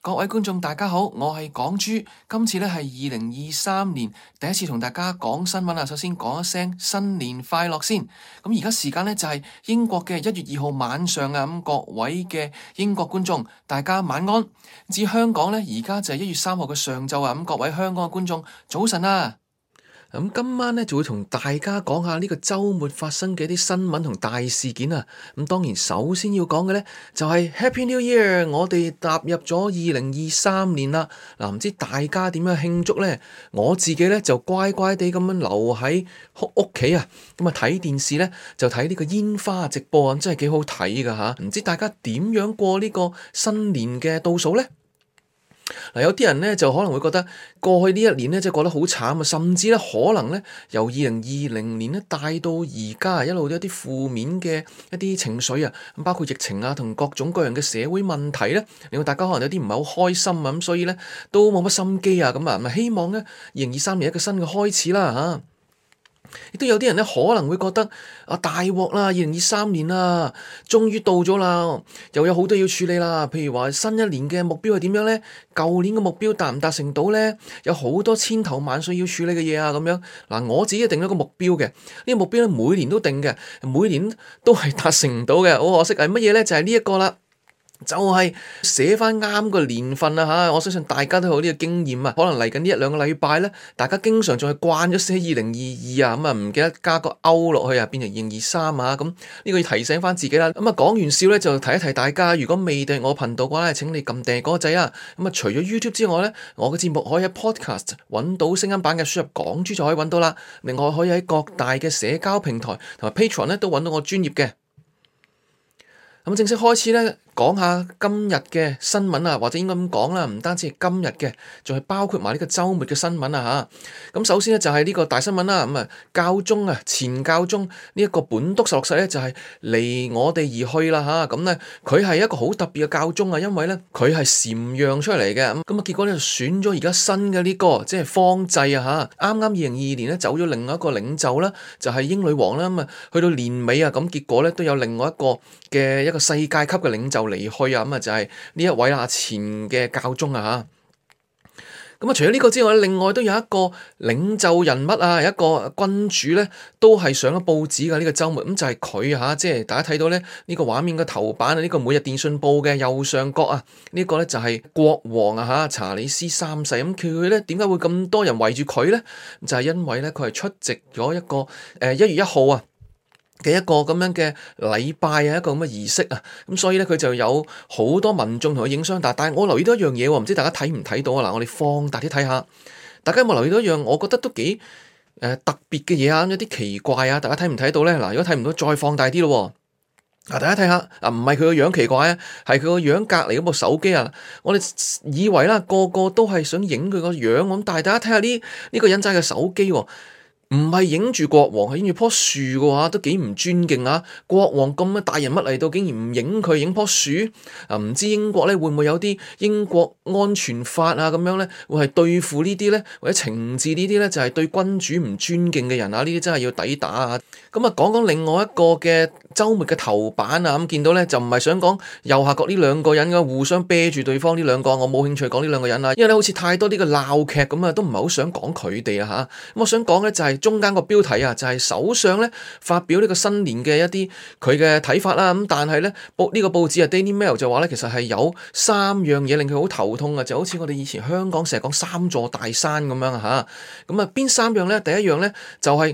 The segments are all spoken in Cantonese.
各位觀眾大家好，我係港豬，今次咧係2023年第一次同大家講新聞啊。首先講一聲新年快樂先。咁而家時間咧就係英國嘅1月2號晚上啊。咁各位嘅英國觀眾，大家晚安。至香港咧，而家就係1月3號嘅上晝啊。咁各位香港嘅觀眾，早晨啊！咁今晚咧就會同大家講下呢個週末發生嘅一啲新聞同大事件啊！咁當然首先要講嘅咧就係 Happy New Year， 我哋踏入咗2023年啦！嗱，唔知大家點樣慶祝咧？我自己咧就乖乖地咁樣留喺屋企啊！咁啊睇電視咧就睇呢個煙花直播啊，真係幾好睇噶吓！唔知大家點樣過呢個新年嘅倒數咧？嗱，有啲人咧就可能會覺得過去呢一年咧，即係過得好慘啊，甚至咧可能咧由2020年咧帶到而家一路都有啲負面嘅一啲情緒啊，咁包括疫情啊同各種各樣嘅社會問題咧，令到大家可能有啲唔係好開心啊，咁所以咧都冇乜心機啊，咁啊，咪希望咧2023年一個新嘅開始啦嚇。亦都有啲人咧可能會覺得大鑊啦，2023年啦，終於到咗啦，又有好多要處理啦。譬如話新一年嘅目標係點樣咧？舊年嘅目標達唔達成到咧？有好多千頭萬緒要處理嘅嘢啊，咁樣嗱，我自己定咗個目標嘅，呢個目標咧每年都定嘅，每年都係達成唔到嘅，好可惜係乜嘢咧？就係呢一個啦。就係寫翻啱個年份啊吓，我相信大家都有呢個經驗啊。可能嚟緊呢1-2個禮拜咧，大家經常仲係慣咗寫2022啊，咁啊唔記得加個歐落去啊，變成2023啊。咁呢個要提醒翻自己啦。咁啊講完笑咧，就提一提大家，如果未訂我頻道嘅話咧，請你撳訂閱嗰個掣啊。咁啊除咗 YouTube 之外咧，我嘅節目可以喺 Podcast 揾到聲音版嘅，輸入港豬就可以揾到啦。另外可以喺各大嘅社交平台同埋 Patreon 咧都揾到我專頁嘅。咁正式開始咧，講下今日嘅新聞啊，或者應該咁講啦，唔單止係今日嘅，仲係包括埋呢個週末嘅新聞啊嚇。咁首先咧就係呢個大新聞啦，咁啊教宗啊前教宗呢一個本篤十六世咧就係離我哋而去啦嚇。咁咧佢係一個好特別嘅教宗啊，因為咧佢係禪讓出嚟嘅。咁啊結果咧就選咗而家新嘅呢個即係方濟啊嚇。啱啱2022年咧走咗另外一個領袖啦，就係英女王啦。咁啊去到年尾啊，咁結果咧都有另外一個嘅一個世界級嘅領袖離去啊，咁啊就係呢一位前嘅教宗啊嚇。咁啊除咗呢個之外，另外都有一個領袖人物啊，有一個君主咧，都係上咗報紙嘅呢個週末。咁就係佢嚇，即係大家睇到咧呢個畫面嘅頭版啊，呢個每日電訊報嘅右上角啊，呢個咧就係國王啊嚇，查理斯三世。咁佢咧點解會咁多人圍住佢咧？就係因為咧佢係出席咗一個1月1號啊嘅一個咁樣嘅禮拜啊，一個咁嘅儀式啊，咁所以咧佢就有好多民眾同佢影相。但係我留意到一樣嘢喎，唔知大家睇唔睇到啊？嗱，我哋放大啲睇下，大家有冇留意到一樣？我覺得都幾特別嘅嘢啊，有啲奇怪啊！大家睇唔睇到咧？嗱，如果睇唔到，再放大啲咯。嗱，大家睇下，唔係佢個樣奇怪啊，係佢個樣隔離嗰部手機啊。我哋以為啦，個個都係想影佢個樣咁，但係大家睇下呢個人揸嘅手機喎。唔係影住國王，係影住棵樹嘅話，都幾唔尊敬啊！國王咁嘅大人物嚟到，竟然唔影佢，影棵樹啊！唔知英國咧會唔會有啲英國安全法啊咁樣咧，會係對付呢啲咧，或者懲治呢啲咧，就係對君主唔尊敬嘅人啊！呢啲真係要抵打啊！咁啊，講講另外一個嘅週末嘅頭版啊，咁見到咧就唔係想講右下角呢兩個人嘅互相啤住對方呢兩個，我冇興趣講呢兩個人啊，因為咧好似太多呢個鬧劇咁啊，都唔係好想講佢哋啊嚇。咁我想講咧就係中間個標題啊，就係首相咧發表呢個新年嘅一啲佢嘅睇法啦。咁但係咧呢個報紙啊 Daily Mail 就話咧，其實係有3樣嘢令佢好頭痛啊，就好似我哋以前香港成日講3座大山咁樣啊嚇。咁啊邊3樣咧？第一樣咧就係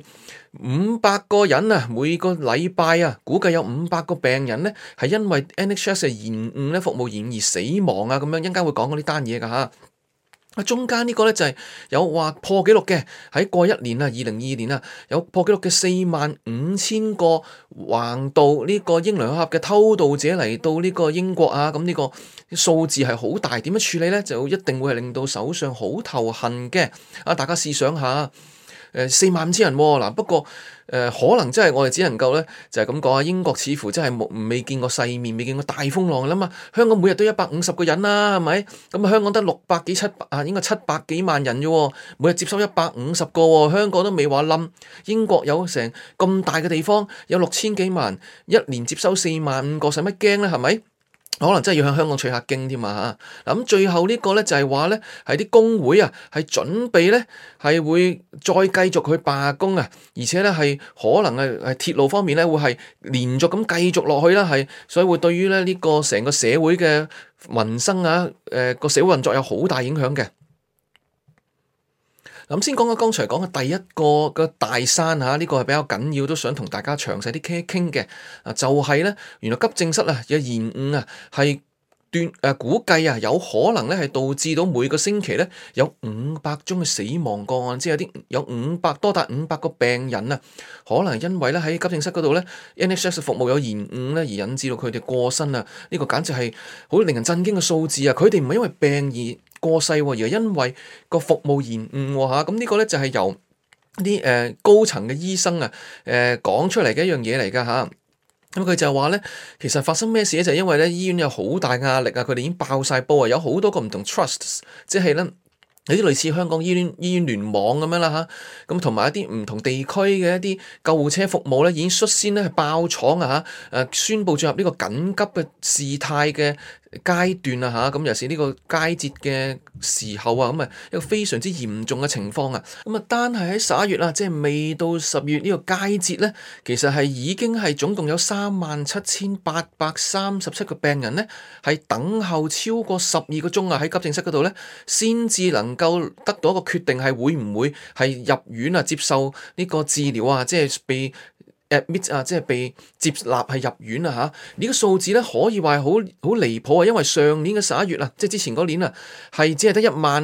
500個人啊，每個禮拜啊，估計有500個病人咧係因為 NHS 嘅延誤咧，服務延誤而死亡啊，咁樣一陣間會講嗰啲單嘢噶嚇。中間呢個咧就係有話破紀錄嘅，喺過一年啊，2022年啊，有破紀錄嘅45000個橫渡呢個英倫海峽嘅偷渡者嚟到呢個英國啊，咁呢個數字係好大，點樣處理咧？就一定會係令到首相好頭痕嘅。啊，大家試想下。45000人喎，嗱，不過可能真係我哋只能夠咧就係咁講啊，英國似乎真係未見過世面，未見過大風浪啦嘛。香港每日都150個人啦，係咪？咁啊香港得600幾700啊，應該700幾萬人啫喎，每日接收150個喎，香港都未話冧。英國有成咁大嘅地方，有6000幾萬，一年接收45000個，使乜驚咧？係咪？ 可能真係要向香港取下經添啊嚇！嗱咁最後呢個咧就係話咧係啲工會啊係準備咧係會再繼續去罷工啊，而且咧係可能係鐵路方面咧會係連續咁繼續落去啦，係所以會對於咧呢個成個社會嘅民生啊個社會運作有好大影響嘅。咁先講講剛才講嘅第一個嘅大山嚇，呢個係比較緊要，都想同大家詳細啲傾一傾嘅。就係咧，原來急症室啊有延誤啊，係估計啊有可能咧係導致到每個星期咧有500宗嘅死亡個案，即係有多達500個病人啊，可能因為咧喺急症室嗰度咧 NHS 服務有延誤咧而引致到佢哋過身啊！呢個簡直係好令人震驚嘅數字啊！佢哋唔係因為病而過世，而係因為個服務延誤喎。咁呢個咧就係由啲高層嘅醫生啊講出嚟嘅一樣嘢嚟㗎嚇。咁佢就話咧，其實發生咩事咧，就係因為咧醫院有好大壓力啊，佢哋已經爆晒煲啊，有好多個唔同 trusts， 即係咧有啲類似香港醫院聯網咁樣啦嚇，咁同埋一啲唔同地區嘅一啲救護車服務咧，已經率先咧係爆廠啊嚇，宣布進入呢個緊急嘅事態嘅階段啊嚇，咁尤其是呢個佳節嘅時候啊，咁啊一個非常之嚴重嘅情況啊，咁啊單係喺11月啊，即係未到10月呢個佳節咧，其實係已經係總共有37,837個病人咧係等候超過12個鐘啊，喺急症室嗰度咧先至能夠得到一個決定係會唔會係入院啊接受呢個治療啊，即係被admit 啊，即係被接納係入院啊嚇！呢個數字咧可以話係好離譜啊，因為上年嘅11月啊，即係之前嗰年啊，係只係得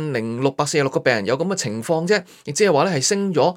10,646個病人有咁嘅情況啫，亦即係話咧係升咗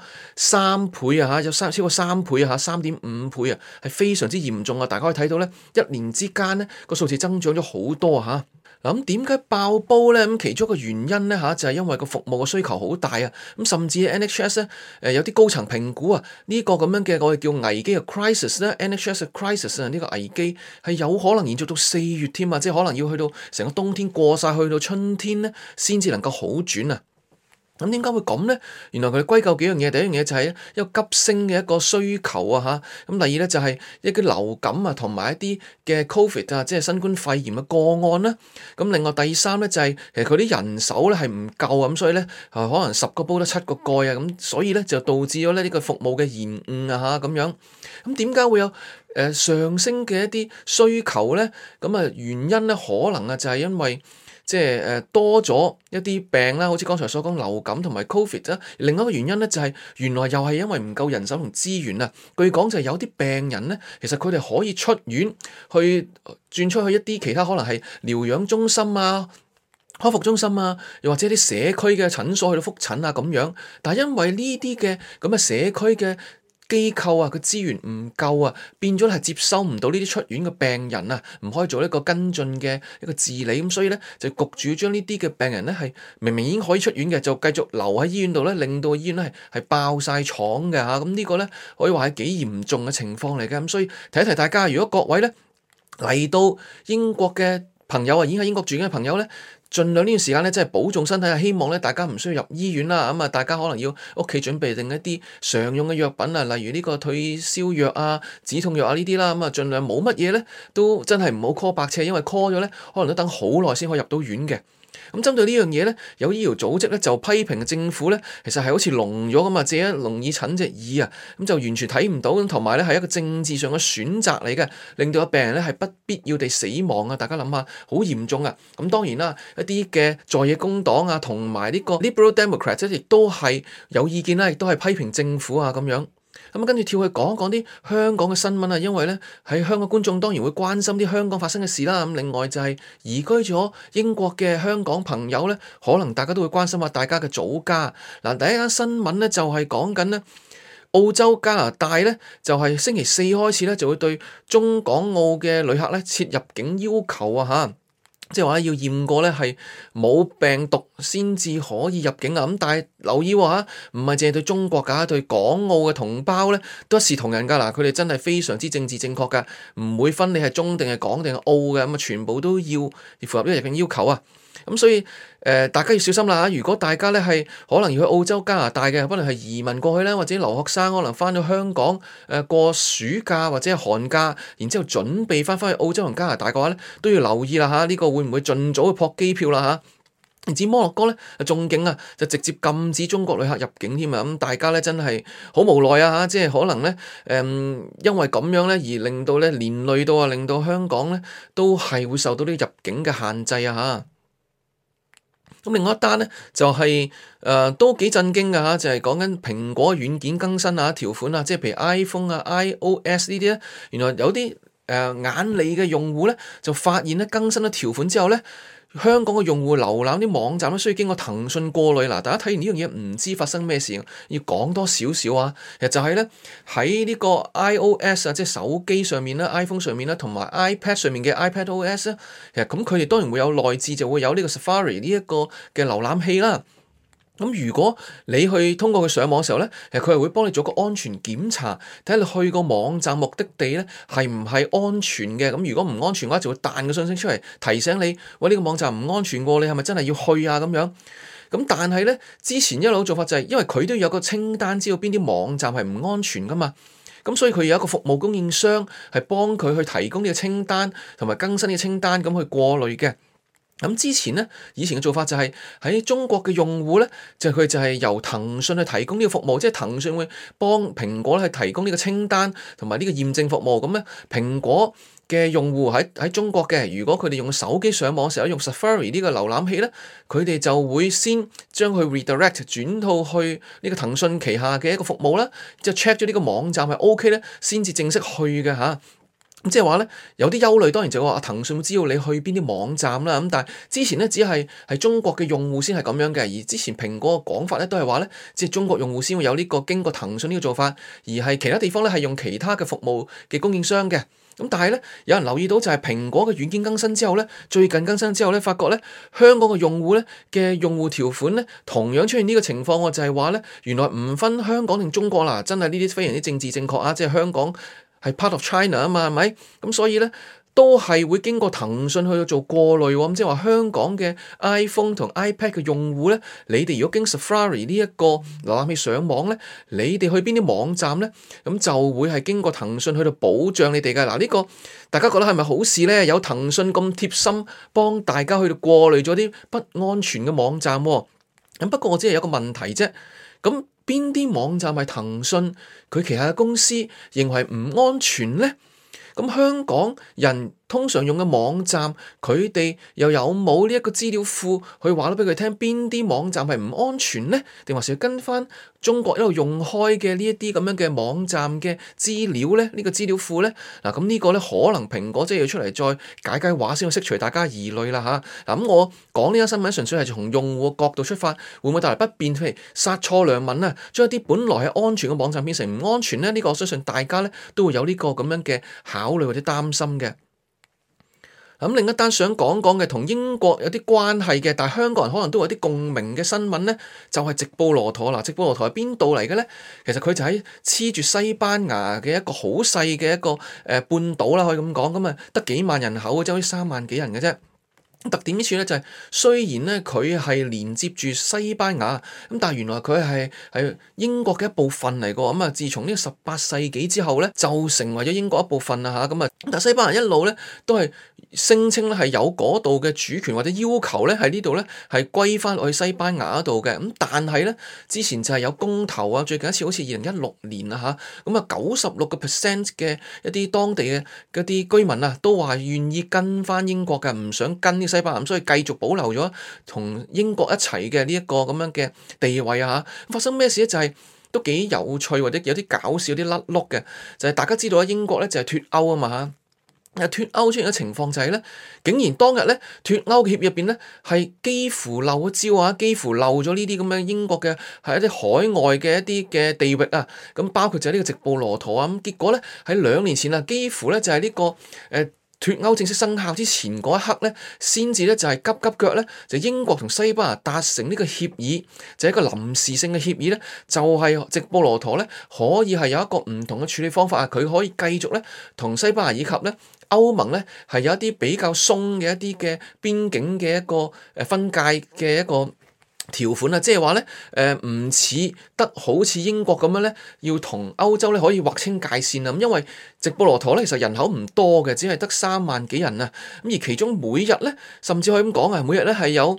3倍啊嚇，有超過3倍啊嚇，3.5倍啊，係非常之嚴重啊！大家可以睇到咧，一年之間咧個數字增長咗好多啊嚇。咁點解爆煲咧？咁其中一個原因咧就係因為個服務嘅需求好大啊！咁甚至 NHS 咧有啲高層評估啊，呢個咁樣嘅我哋叫危機嘅 crisis 咧，NHS 嘅 crisis 啊，呢個危機係有可能延續到4月添啊！即係可能要去到成個冬天過晒，去到春天咧先至能夠好轉啊！咁點解會咁咧？原來佢哋歸咎幾樣嘢，第一樣嘢就係一個急升嘅一個需求啊嚇，咁第二咧就係一啲流感啊同埋一啲嘅 Covid 啊，即係新冠肺炎嘅個案啦。咁另外第三咧就係其實佢啲人手咧係唔夠啊，咁所以咧可能10個煲得7個蓋啊，咁所以咧就導致咗咧呢個服務嘅延誤啊嚇咁樣。咁點解會有上升嘅一啲需求咧？咁啊原因咧可能啊就係因為即係多咗一啲病啦，好似剛才所講流感同埋 Covid 啦。另外一個原因咧就係原來又係因為唔夠人手同資源啊。據講就係有啲病人咧，其實佢哋可以出院去轉出去一啲其他可能係療養中心啊、康復中心啊，又或者啲社區嘅診所去到覆診啊咁樣。但係因為呢啲嘅咁嘅社區嘅機構啊，個資源唔夠啊，變咗係接收唔到呢啲出院嘅病人啊，唔可以做一個跟進嘅一個治理，咁所以咧就焗住將呢啲嘅病人咧係明明已經可以出院嘅，就繼續留喺醫院度咧，令到醫院咧係爆晒廠嘅嚇，咁呢個咧可以話係幾嚴重嘅情況嚟嘅，咁所以提一提大家，如果各位咧嚟到英國嘅朋友啊，已經喺英國住緊嘅朋友咧，盡量呢段時間咧，真係保重身體啊！希望咧，大家唔需要入醫院啦。咁啊，大家可能要屋企準備定一啲常用嘅藥品啊，例如呢個退燒藥啊、止痛藥啊呢啲啦。咁啊，盡量冇乜嘢咧，都真係唔好 call 白車，因為 call 咗咧，可能都等好耐先可以入到院嘅。咁針對呢樣嘢咧，有醫療組織咧就批評政府咧，其實係好似聾咗咁啊，借一聾耳陳隻耳啊，咁就完全睇唔到，咁同埋咧係一個政治上嘅選擇嚟嘅，令到個病人咧係不必要地死亡啊！大家諗下，好嚴重啊！咁當然啦，一啲嘅在野工黨啊，同埋呢個 Liberal Democrats 亦都係有意見啦，亦都係批評政府啊咁樣。咁跟住跳去講一講啲香港嘅新聞啊，因為咧喺香港觀眾當然會關心啲香港發生嘅事啦。咁另外就係移居咗英國嘅香港朋友咧，可能大家都會關心下大家嘅祖家。嗱，第一間新聞咧就係講緊咧澳洲加拿大咧就係星期4開始咧就會對中港澳嘅旅客咧設入境要求啊嚇。即係話要驗過咧係冇病毒先至可以入境啊！咁但係留意喎，唔係淨係對中國㗎，對港澳嘅同胞咧都一視同仁㗎。嗱，佢哋真係非常之政治正確㗎，唔會分你係中定係港定係澳嘅，咁啊全部都要符合呢個入境要求啊！ 咁所以大家要小心啦嚇。如果大家咧係可能要去澳洲、加拿大嘅，可能係移民過去啦，或者留學生可能翻到香港過暑假或者係寒假，然之後準備翻去澳洲同加拿大嘅話咧，都要留意啦嚇。呢個會唔會盡早去撲機票啦嚇？唔止摩洛哥咧，仲勁啊，就直接禁止中國旅客入境添啊！咁大家咧真係好無奈啊嚇，即係可能咧因為咁樣咧而令到咧連累到令到香港咧都係會受到啲入境嘅限制啊嚇。咁另外一單咧就係都幾震驚㗎嚇，就係講緊蘋果軟件更新啊條款啊，即係譬如 iPhone 啊、iOS 呢啲咧，原來有啲眼利嘅用戶咧就發現咧更新咗條款之後咧，香港嘅用戶瀏覽啲網站都需要經過騰訊過濾。嗱，大家睇完呢樣嘢唔知發生咩事，要講多少少啊。其實就係咧喺呢個 iOS 啊，即係手機上面啦、iPhone 上面啦，同埋 iPad 上面嘅 iPadOS 咧，其實咁佢哋當然會有內置，就會有呢個 Safari 呢一個嘅瀏覽器啦。咁如果你去通過佢上網嘅時候咧，其實佢係會幫你做個安全檢查，睇下你去個網站目的地咧係唔係安全嘅。咁如果唔安全嘅話，就會彈個信息出嚟提醒你，喂，呢個網站唔安全喎，你係咪真係要去啊咁樣？咁但係咧之前一路做法就係因為佢都有個清單，知道邊啲網站係唔安全噶嘛。咁所以佢有一個服務供應商係幫佢去提供呢個清單同埋更新呢個清單，咁去過濾嘅。咁之前咧，以前嘅做法就係喺中國嘅用戶咧，佢就係由騰訊去提供呢個服務，即係騰訊會幫蘋果咧去提供呢個清單同埋呢個驗證服務。咁咧，蘋果嘅用戶喺中國嘅，如果佢哋用手機上網嘅時候用 Safari 呢個瀏覽器咧，佢哋就會先將佢 redirect 轉到去呢個騰訊旗下嘅一個服務啦，即係 check 咗呢個網站係 OK 咧，先至正式去嘅嚇。咁即係話咧，有啲憂慮，當然就話騰訊會知道你去邊啲網站啦。咁但係之前咧，只係中國嘅用戶先係咁樣嘅，而之前蘋果嘅講法咧都係話咧，即係中國用戶先會有呢個經過騰訊呢個做法，而係其他地方咧係用其他嘅服務嘅供應商嘅。咁但係咧，有人留意到就係蘋果嘅軟件更新之後咧，最近更新之後咧，發覺咧香港嘅用戶咧嘅用戶條款咧同樣出現呢個情況喎，就係話咧原來唔分香港定中國啦，真係呢啲非常之政治正確啊！即係香港係 part of China 啊嘛，係咪？咁所以咧都係會經過騰訊去做過濾喎。咁即係話香港嘅 iPhone 同 iPad 嘅用戶咧，你哋如果經 Safari 呢一個瀏覽器上網咧，你哋去邊啲網站咧，咁就會係經過騰訊去到保障你哋嘅。嗱，呢個大家覺得係咪好事咧？有騰訊咁貼心幫大家去到過濾咗啲不安全嘅網站喎。咁不過我只係有個問題啫。咁邊啲網站係騰訊佢旗下嘅公司認為唔安全咧？咁香港人通常用嘅網站，佢哋又有冇呢一個資料庫去話咗俾佢聽邊啲網站係唔安全咧？定還是要跟翻中國一路用開嘅呢一啲咁樣嘅網站嘅資料咧？呢個資料庫咧？嗱，咁呢個咧可能蘋果即係要出嚟再解話先，去釋除大家疑慮啦嚇。嗱，咁我講呢個新聞純粹係從用戶角度出發，會唔會帶來不便？譬如殺錯良民啊，將一啲本來係安全嘅網站變成唔安全咧？呢個我相信大家咧都會有呢個咁樣嘅考慮或者擔心嘅。咁另一單想講嘅同英國有啲關係嘅，但係香港人可能都有啲共鳴嘅新聞咧，就係直布羅陀啦。直布羅陀係邊度嚟嘅咧？其實佢就喺黐住西班牙嘅一個好細嘅一個半島啦，可以咁講。咁啊，得幾萬人口，即係好似3萬幾人嘅啫。特點之處咧就係，雖然咧佢係連接住西班牙，咁但係原來佢係英國嘅一部分嚟個。咁啊，自從呢個18世紀之後咧，就成為咗英國一部分啦嚇。咁啊，但係西班牙一路咧都係聲稱咧係有嗰度嘅主權或者要求咧喺呢度咧係歸翻去西班牙嗰度嘅。咁但係咧之前就係有公投啊，最近一次好似2016年啊嚇，咁啊96% 嘅一啲當地嘅嗰啲居民啊都話願意跟翻英國嘅，唔想跟呢西班牙，咁所以繼續保留咗同英國一齊嘅呢一個咁樣嘅地位啊嚇。發生咩事咧？就係都幾有趣或者有啲搞笑、啲甩碌嘅，就係大家知道啊，英國咧就係脫歐啊嘛嚇。脫歐出現嘅情況就係咧，竟然當日咧脫歐協議入邊咧係幾乎漏咗招啊，幾乎漏咗呢啲咁嘅英國嘅係一啲海外嘅一啲嘅地域啊，咁包括就係呢個直布羅陀啊，咁結果咧喺2年前啊，幾乎咧就係呢個脫歐正式生效之前嗰一刻咧，先至咧就係急急腳咧，就英國同西班牙達成呢個協議，就係一個臨時性嘅協議咧，就係直布羅陀咧可以係有一個唔同嘅處理方法啊，佢可以繼續咧同西班牙以及咧歐盟咧係有一啲比較鬆嘅一啲嘅邊境嘅一個分界嘅一個條款啊，即係話咧，唔似得好似英國咁樣咧，要同歐洲咧可以劃清界線啊。咁因為直布羅陀咧其實人口唔多嘅，只係得3萬幾人啊。咁而其中每日咧，甚至可以咁講啊，每日咧係有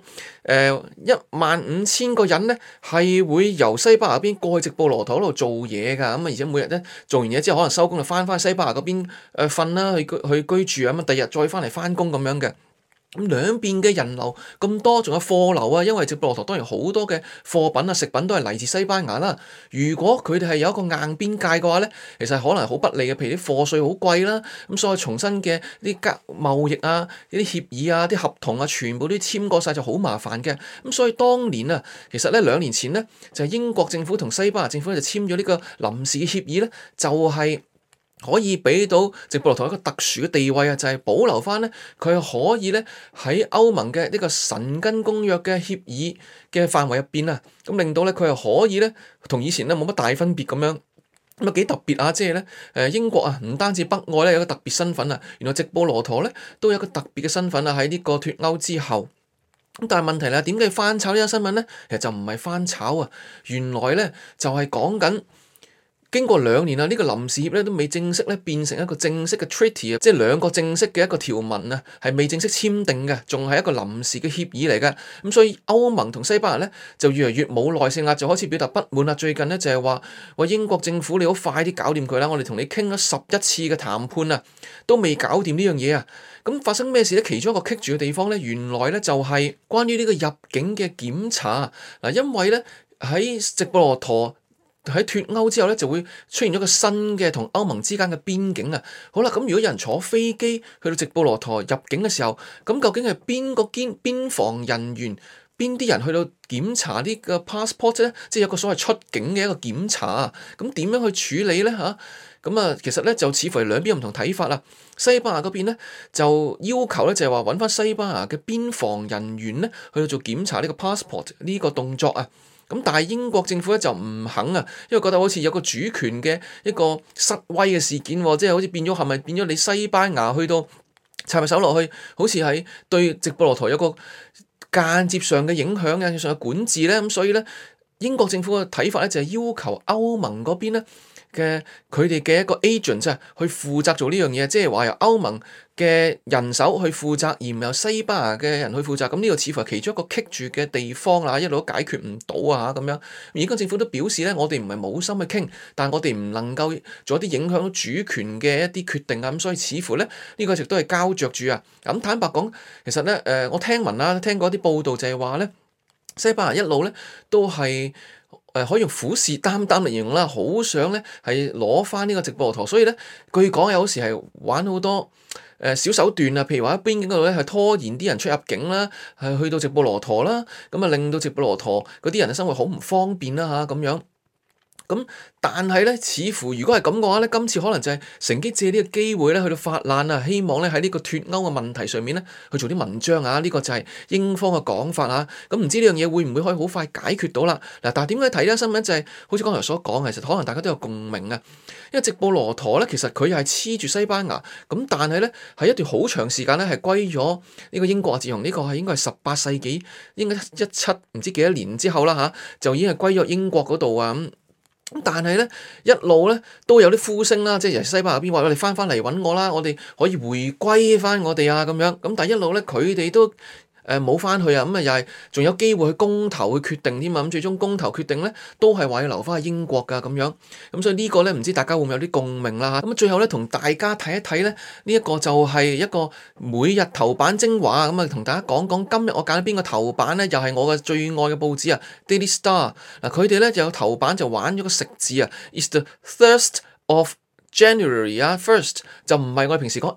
15000個人咧係會由西班牙嗰邊過去直布羅陀嗰度做嘢㗎。咁啊，而且每日咧做完嘢之後，可能收工就翻西班牙嗰邊瞓啦，去居住啊。咁啊，第二日再翻嚟翻工咁樣嘅。咁兩邊嘅人流咁多，仲有貨流啊，因為直布羅陀當然好多嘅貨品啊、食品都係嚟自西班牙啦。如果佢哋係有一個硬邊界嘅話咧，其實可能好不利嘅，譬如啲貨稅好貴啦，咁所以重新嘅啲貿易啊、呢啲協議啊、啲合同啊，全部都簽過晒就好麻煩嘅。咁所以當年啊，其實咧2年前咧，就係英國政府同西班牙政府就簽咗呢個臨時嘅協議咧，就係可以俾到直布羅陀一個特殊嘅地位啊，就係保留翻咧，佢可以咧喺歐盟嘅呢個申根公約嘅協議嘅範圍入邊啊，咁令到咧佢係可以咧同以前咧冇乜大分別咁樣，咁啊幾特別啊！即係咧英國啊，唔單止北愛咧有個特別身份啊，原來直布羅陀咧都有一個特別嘅身份啊，喺呢個脫歐之後。咁但係問題咧，點解要翻炒呢個新聞咧？其實就唔係翻炒啊，原來咧就係講緊。經過2年啊，呢個臨時協咧都未正式咧變成一個正式嘅 treaty 啊，即係2個正式嘅一個條文啊，係未正式簽訂嘅，仲係一個臨時嘅協議嚟嘅。咁所以歐盟同西班牙咧就越嚟越冇耐性啦，就開始表達不滿啦。最近咧就係話英國政府你好快啲搞掂佢啦，我哋同你傾咗11次嘅談判啊，都未搞掂呢樣嘢啊。咁發生咩事咧？其中一個棘住嘅地方咧，原來咧就係關於呢個入境嘅檢查嗱，因為咧喺直布羅陀。喺脫歐之後咧，就會出現咗個新嘅同歐盟之間嘅邊境啊！好啦，咁如果有人坐飛機去到直布羅陀入境嘅時候，咁究竟係邊個邊防人員、邊啲人去到檢查呢個 passport 咧？即係有個所謂出境嘅一個檢查啊！咁點樣去處理咧？嚇咁啊，其實咧就似乎係兩邊有唔同睇法啦。西班牙嗰邊咧就要求咧就係話揾翻西班牙嘅邊防人員咧去到做檢查呢個 passport 呢個動作啊！咁但係英國政府咧就唔肯啊，因為覺得好似有個主權嘅一個失威嘅事件，即係好似變咗係咪變咗你西班牙去到插埋手落去，好似係對直布羅陀有個間接上嘅影響、間接上嘅管治咧。咁所以咧，英國政府嘅睇法咧就係要求歐盟嗰邊咧嘅佢哋嘅一個 agent 啊，去負責做呢樣嘢，即係話由歐盟嘅人手去負責，而唔係由西班牙嘅人去負責。咁呢個似乎係其中一個棘住嘅地方啦，一路都解決唔到啊咁樣。而家政府都表示咧，我哋唔係冇心去傾，但係我哋唔能夠做一啲影響到主權嘅一啲決定啊。咁所以似乎咧呢個一直都係膠着住啊。咁坦白講，其實咧我聽聞啦，聽過一啲報道就係話咧，西班牙一路咧都係。可以用虎視眈眈嚟形容啦，好想咧係攞翻呢個直布羅陀，所以咧據講有時係玩好多小手段啊，譬如話喺邊境嗰度咧係拖延啲人出入境啦，係去到直布羅陀啦，咁啊令到直布羅陀嗰啲人嘅生活好唔方便啦嚇咁樣。咁但係咧，似乎如果係咁嘅話咧，今次可能就係乘機借呢個機會咧，去到發難啊，希望咧喺呢個脫歐嘅問題上面咧，去做啲文章啊，呢個就係英方嘅講法啊。咁唔知呢樣嘢會唔會可以好快解決到啦？嗱，但係點解睇呢新聞就係好似剛才所講，其實可能大家都有共鳴啊。因為直布羅陀咧，其實佢係黐住西班牙，咁但係咧係一段好長時間咧係歸咗呢個英國啊。自從呢個係應該係18世紀，應該17唔知幾多年之後啦嚇，就已經係歸咗英國嗰度啊咁。咁但係咧，一路咧都有啲呼聲啦，即係由西班牙邊話我哋翻嚟揾我啦，我哋可以回歸翻我哋啊咁樣。咁但係一路咧，佢哋都冇翻去啊，咁啊又係仲有機會去公投去決定添啊，咁最終公投決定咧都係話要留翻去英國噶咁樣。咁所以呢個咧唔知大家會唔會有啲共鳴啦？咁最後咧同大家睇一睇咧，呢一個就係一個每日頭版精華咁啊，同大家講講今日我揀咗邊個頭版咧，又係我嘅最愛嘅報紙啊，Daily Star。嗱，佢哋咧就有頭版就玩咗個食字啊 ，It's the thirst of January 啊 ，first 就唔係我哋平時講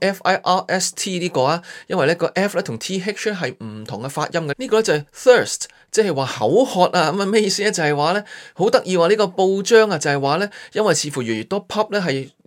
FIRST 呢個啊，因為咧個 F 咧同 TH 係唔同嘅發音嘅。呢個咧就係 thirst，即係話口渴啊。咁啊咩意思咧？就係話咧好得意喎，呢個報章啊就係話咧，因為似乎越嚟越多 pub 咧係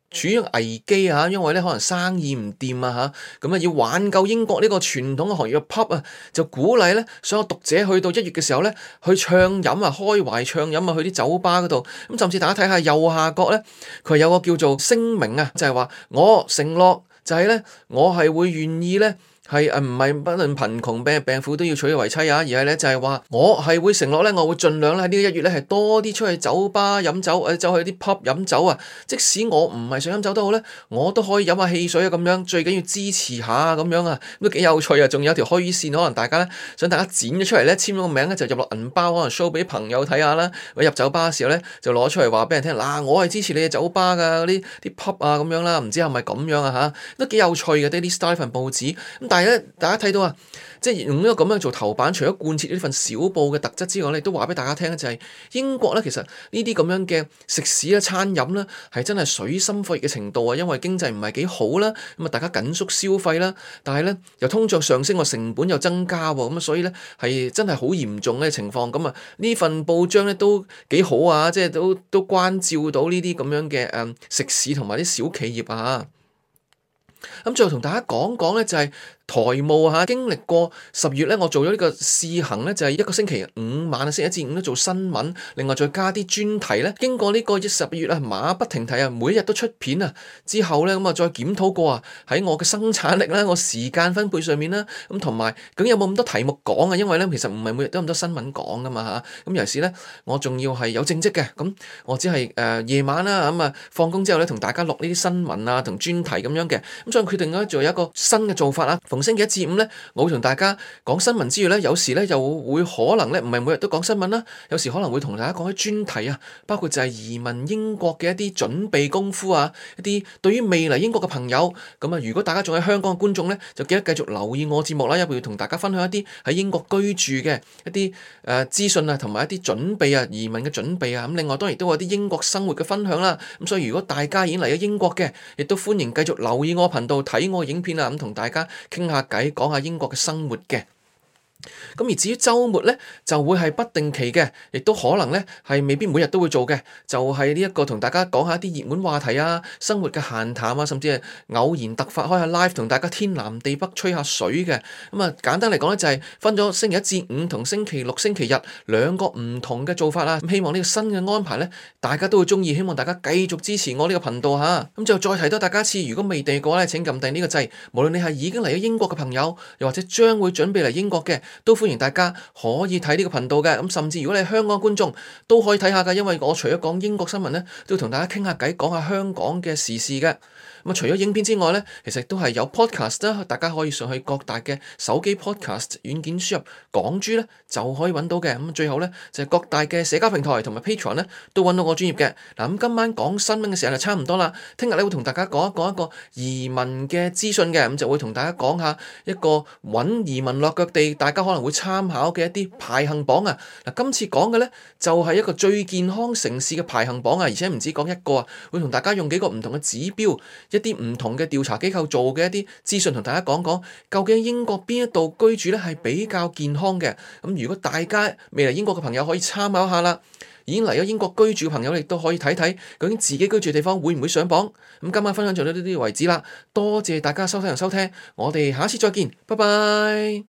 處於危機啊，因為咧可能生意唔掂啊嚇，咁啊要挽救英國呢個傳統嘅行業嘅 pub 啊，就鼓勵咧所有讀者去到1月嘅時候咧去暢飲啊，開懷暢飲啊，去啲酒吧嗰度，咁甚至大家睇下右下角咧，佢有個叫做聲明啊，就係話我承諾就係咧，我係會願意咧。係唔係不論貧窮病婦都要娶佢為妻啊？而係咧就係話我係會承諾咧，我會盡量咧喺呢個1月咧係多啲出去酒吧飲酒，走去啲 pub 飲酒啊！即使我唔係想飲酒都好咧，我都可以飲下汽水啊咁樣。最緊要支持下咁樣啊，都幾有趣啊！仲有條虛線，可能大家咧想大家剪咗出嚟咧，簽咗個名咧就入落銀包，可能 show 俾朋友睇下啦。或者入酒吧嘅時候咧就攞出嚟話俾人聽，嗱我係支持你嘅酒吧㗎，嗰啲 pub 啊咁樣啦，唔知係咪咁樣啊嚇？都幾有趣嘅 Daily Star 份報紙咁，但係咧大家睇到啊，即係用呢個咁樣做頭版，除咗貫徹呢份小報嘅特質之外咧，都話俾大家聽咧，就係英國咧，其實呢啲咁樣嘅食肆啦、餐飲啦，係真係水深火熱嘅程度啊，因為經濟唔係幾好啦，咁啊大家緊縮消費啦，但係咧又通脹上升，個成本又增加喎，咁啊所以咧係真係好嚴重嘅情況。咁啊呢份報章咧都幾好啊，即係都關照到呢啲咁樣嘅食肆同埋啲小企業啊。咁最後同大家講講咧，就係台務嚇，經歷過10月咧，我做咗呢個試行咧，就係一個星期5晚啊，星期一至五都做新聞，另外再加啲專題咧。經過呢個10月啊，馬不停蹄啊，每一日都出片啊，之後咧咁啊，再檢討過啊，喺我嘅生產力啦、我時間分配上面啦，咁同埋究竟有冇咁多題目講啊？因為咧其實唔係每日都咁多新聞講噶嘛嚇。咁尤其是咧，我仲要係有正職嘅，咁我只係夜晚啦，咁啊放工之後咧，同大家錄呢啲新聞啊同專題咁樣嘅。咁所以決定咧，仲有一個新嘅做法啦。逢星期一至五咧，我會同大家講新聞之餘咧，有時咧又會可能咧，唔係每日都講新聞啦，有時可能會同大家講啲專題啊，包括就係移民英國嘅一啲準備功夫啊，一啲對於未嚟英國嘅朋友，咁啊，如果大家仲喺香港嘅觀眾咧，就記得繼續留意我節目啦，因為會同大家分享一啲喺英國居住嘅一啲資訊啊，同埋一啲準備啊，移民嘅準備啊，咁另外當然都有啲英國生活嘅分享啦。咁所以如果大家已經嚟咗英國嘅，亦都歡迎繼續留意我頻道睇我影片啊，咁同大家傾下偈，講下英國嘅生活嘅。咁而至於週末咧，就會係不定期嘅，亦都可能咧係未必每日都會做嘅，就係呢一個同大家講下一啲熱門話題啊，生活嘅閒談啊，甚至係偶然突發開下 live 同大家天南地北吹下水嘅。咁啊簡單嚟講咧，就係分咗星期一至五同星期六、星期日兩個唔同嘅做法啦。咁希望呢個新嘅安排咧，大家都會鍾意，希望大家繼續支持我呢個頻道嚇。咁就再提多大家一次，如果未訂嘅話咧，請撳訂呢個掣。無論你係已經嚟咗英國嘅朋友，又或者將會準備嚟英國嘅，都歡迎大家可以睇呢個頻道嘅，咁甚至如果你係香港觀眾都可以睇下㗎，因為我除咗講英國新聞咧，都會同大家傾下偈，講下香港嘅時事嘅。咁除咗影片之外咧，其實都係有 podcast 啦，大家可以上去各大嘅手機 podcast 軟件輸入港珠咧，就可以揾到嘅。咁最後咧就係各大嘅社交平台同埋 Patreon 咧都揾到我專業嘅。嗱，咁今晚講新聞嘅時候就差唔多啦，聽日咧會同大家講一個移民嘅資訊嘅，咁就會同大家講下一個揾移民落腳地，大家可能會參考嘅一啲排行榜啊。嗱，今次講嘅咧就係一個最健康城市嘅排行榜啊，而且唔止講一個啊，會同大家用幾個唔同嘅指標，一啲唔同嘅調查機構做嘅一啲資訊，同大家講講究竟英國邊一度居住咧係比較健康嘅。咁如果大家未嚟英國嘅朋友可以參考下啦，已經嚟咗英國居住嘅朋友亦都可以睇睇究竟自己居住嘅地方會唔會上榜。咁今晚分享就到呢啲為止啦，多謝大家收睇同收聽，我哋下次再見，拜拜。